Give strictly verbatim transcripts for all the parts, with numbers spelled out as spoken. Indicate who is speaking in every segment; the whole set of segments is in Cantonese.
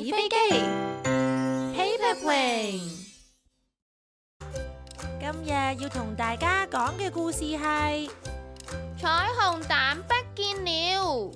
Speaker 1: 紙飛機 Paper Plane。今日要同大家講嘅故事係
Speaker 2: 彩虹蛋不見了。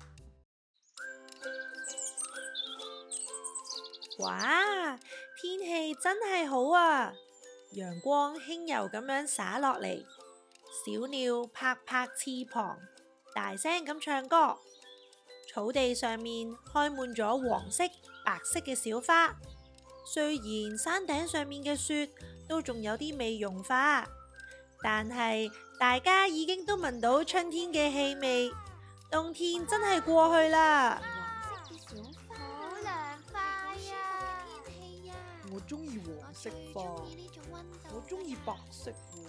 Speaker 1: 哇，天氣真係好啊！陽光輕柔咁樣灑落嚟，小鳥拍拍翅膀，大聲咁唱歌。草地上面開滿咗黃色、白色嘅小花。雖然山頂上面嘅雪都仲有啲未融化，但係大家已經都聞到春天嘅氣味，冬天真係過去啦。
Speaker 2: 黃色嘅小花好涼快啊！天氣啊！
Speaker 3: 我中意黃色花，我中意白色喎。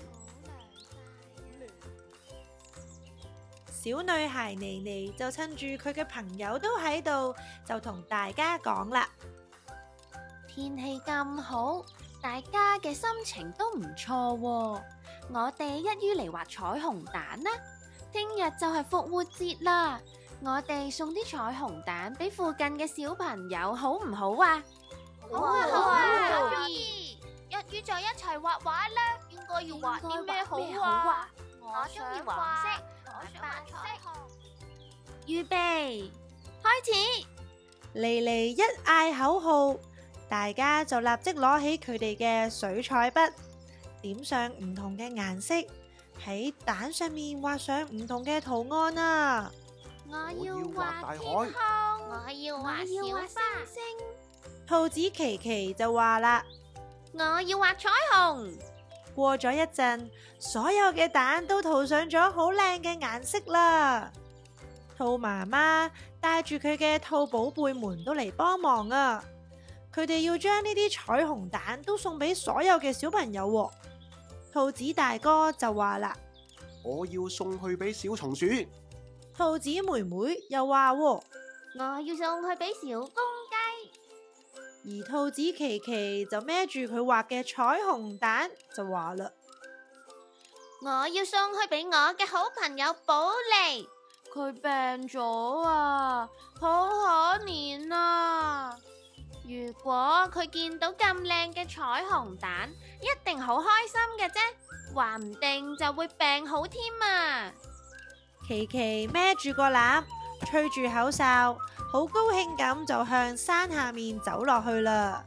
Speaker 1: 小女孩妮妮就趁住佢嘅朋友都喺度，就同大家講啦。
Speaker 2: 天氣咁好，大家嘅心情都唔錯喎。我哋一於嚟畫彩虹蛋啦！聽日就係復活節啦，我哋送啲彩虹蛋俾附近嘅小朋友，好唔好啊？
Speaker 4: 好啊好啊，可以！一於就一齊畫畫啦。應該要畫啲咩好啊？我中意黃色，我想畫彩虹。
Speaker 2: 預備，開始！
Speaker 1: 妮妮一嗌口號，大家就立即攞起佢哋嘅水彩筆，點上唔同嘅顏色，喺蛋上面畫上唔同嘅圖案啊！
Speaker 2: 我要畫天空，
Speaker 4: 我要畫小花。
Speaker 1: 兔子琪琪就話啦：
Speaker 2: 我要畫彩虹。
Speaker 1: 過咗一陣，所有嘅蛋都塗上咗好靚嘅顏色啦。兔媽媽帶住佢嘅兔寶貝們都嚟幫忙啊！佢哋要將呢啲彩虹蛋都送俾所有嘅小朋友喎。兔子大哥就話啦：
Speaker 3: 我要送去俾小松鼠。
Speaker 1: 兔子妹妹又話喎：
Speaker 2: 我要送去俾小公雞。
Speaker 1: 而兔子琪琪就孭住佢畫嘅彩虹蛋就話啦：
Speaker 2: 我要送去俾我嘅好朋友寶莉，佢病咗啊，好可憐啊！如果佢見到咁靚嘅彩虹蛋，一定好開心嘅啫，話唔定就會病好添啊！
Speaker 1: 琪琪孭住個籃，吹住口哨，好高興咁就向山下面走落去啦。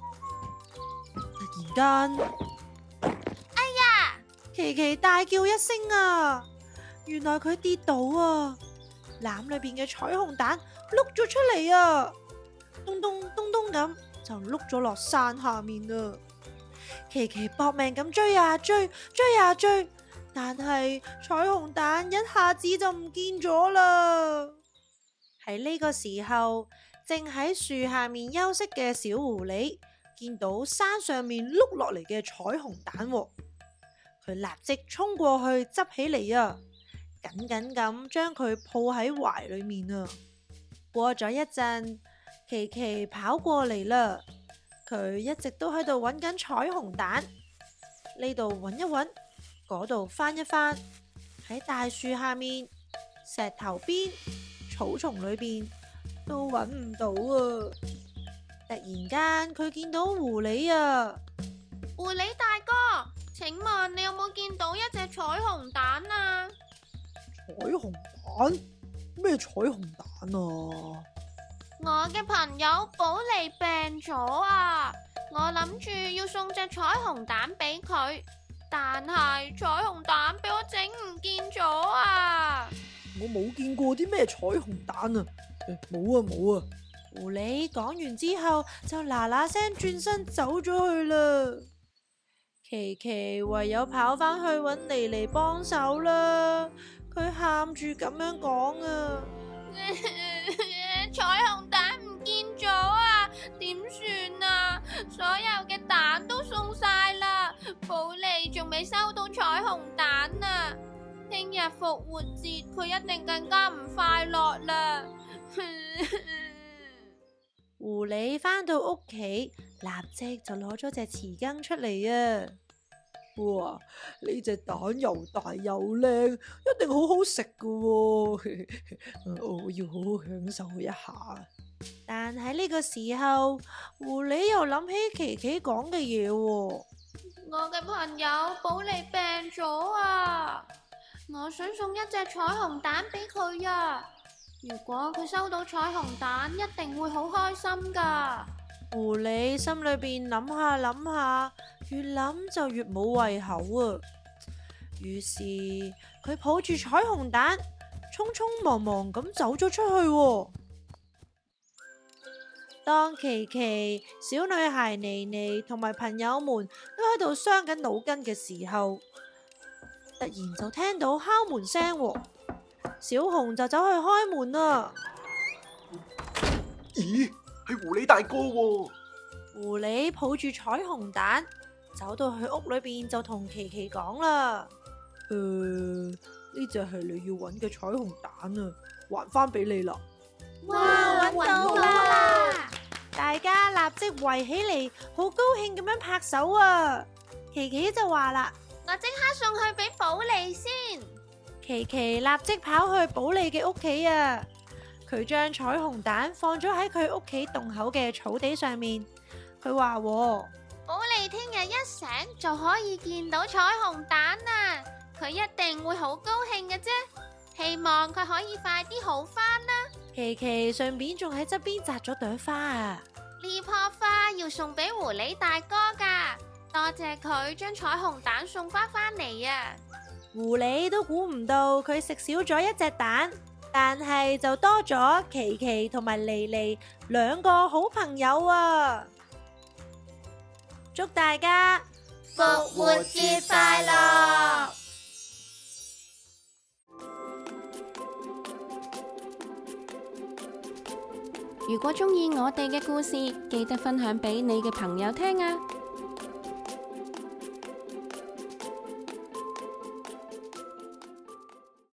Speaker 1: 突然間，
Speaker 2: 哎呀！
Speaker 1: 琪琪大叫一聲啊！原來佢跌倒啊！籃裏邊嘅彩虹蛋碌咗出嚟啊！咚咚咚咚咁就碌咗落山下面啦。琪琪搏命咁追啊追，追啊追，但係彩虹蛋一下子就唔見咗啦。喺呢個時候，正喺樹下面休息嘅小狐狸見到山上面碌落嚟嘅彩虹蛋喎，佢立即衝過去執起嚟啊，緊緊咁將佢抱喺懷裏面啊。過咗一陣，琪琪跑過嚟啦，佢一直都喺度揾緊彩虹蛋，呢度揾一揾，嗰度翻一翻，喺大樹下面、石頭邊、草叢裏邊都揾唔到啊！突然間佢見到狐狸啊！
Speaker 2: 狐狸大哥，請問你有冇見到一隻彩虹蛋啊？
Speaker 3: 彩虹蛋？咩彩虹蛋啊？
Speaker 2: 我嘅朋友寶莉病咗啊！我諗住要送隻彩虹蛋俾佢，但係彩虹蛋俾我整唔見咗啊！
Speaker 3: 我冇見過啲咩彩虹蛋啊！冇啊冇啊！
Speaker 1: 狐狸講完之後就嗱嗱聲轉身走咗去啦。琪琪唯有跑返去搵妮妮幫手啦。佢喊住咁樣講啊。
Speaker 2: 彩虹蛋唔見咗啊，點算啊？所有嘅蛋都送晒啦，寶莉仲未收到彩虹蛋啊！聽日復活節佢一定更加唔快樂啦。
Speaker 1: 狐狸返到屋企，立即就攞咗隻匙羹出嚟啊！
Speaker 3: 哇！呢隻蛋又大又靚，一定好好食噶喎！我要好好享受一下。
Speaker 1: 但喺呢個時候，狐狸又諗起琪琪講嘅嘢喎。
Speaker 2: 我嘅朋友寶莉病咗啊！我想送一隻彩虹蛋俾佢啊！如果佢收到彩虹蛋，一定會好開心噶。
Speaker 1: 狐狸心裏邊諗下諗下，越諗就越冇胃口啊！於是佢抱住彩虹蛋，匆匆忙忙咁走咗出去喎。當琪琪、小女孩妮妮同埋朋友們都喺度傷緊腦筋嘅時候，突然就聽到敲門聲喎。小紅就走去開門啦。
Speaker 5: 咦，係狐狸大哥喎！
Speaker 1: 狐狸抱住彩虹蛋，走到去屋裏邊就同琪琪講啦。
Speaker 3: 誒，呢隻係你要揾嘅彩虹蛋啊，還返俾你啦！
Speaker 1: 哇，揾到
Speaker 4: 到
Speaker 1: 啦！大家立即圍起嚟，好高興咁樣拍手啊！琪琪就話啦：
Speaker 2: 我即刻送去俾寶莉先。
Speaker 1: 琪琪立即跑去寶莉嘅屋企啊！佢將彩虹蛋放咗喺佢屋企洞口嘅草地上面。佢話：
Speaker 2: 寶莉聽日一醒就可以見到彩虹蛋啊！佢一定會好高興嘅啫。希望佢可以快啲好返啦。
Speaker 1: 琪琪順便仲喺側邊摘咗朵花啊！
Speaker 2: 呢棵花要送俾狐狸大哥噶，多謝佢將彩虹蛋送翻返嚟啊！
Speaker 1: 狐狸都估唔到佢食少咗一隻蛋，但係就多咗琪琪同埋妮妮兩個好朋友啊！祝大家
Speaker 4: 復活節快樂！
Speaker 2: 如果鍾意我哋嘅故事，記得分享俾你嘅朋友聽啊！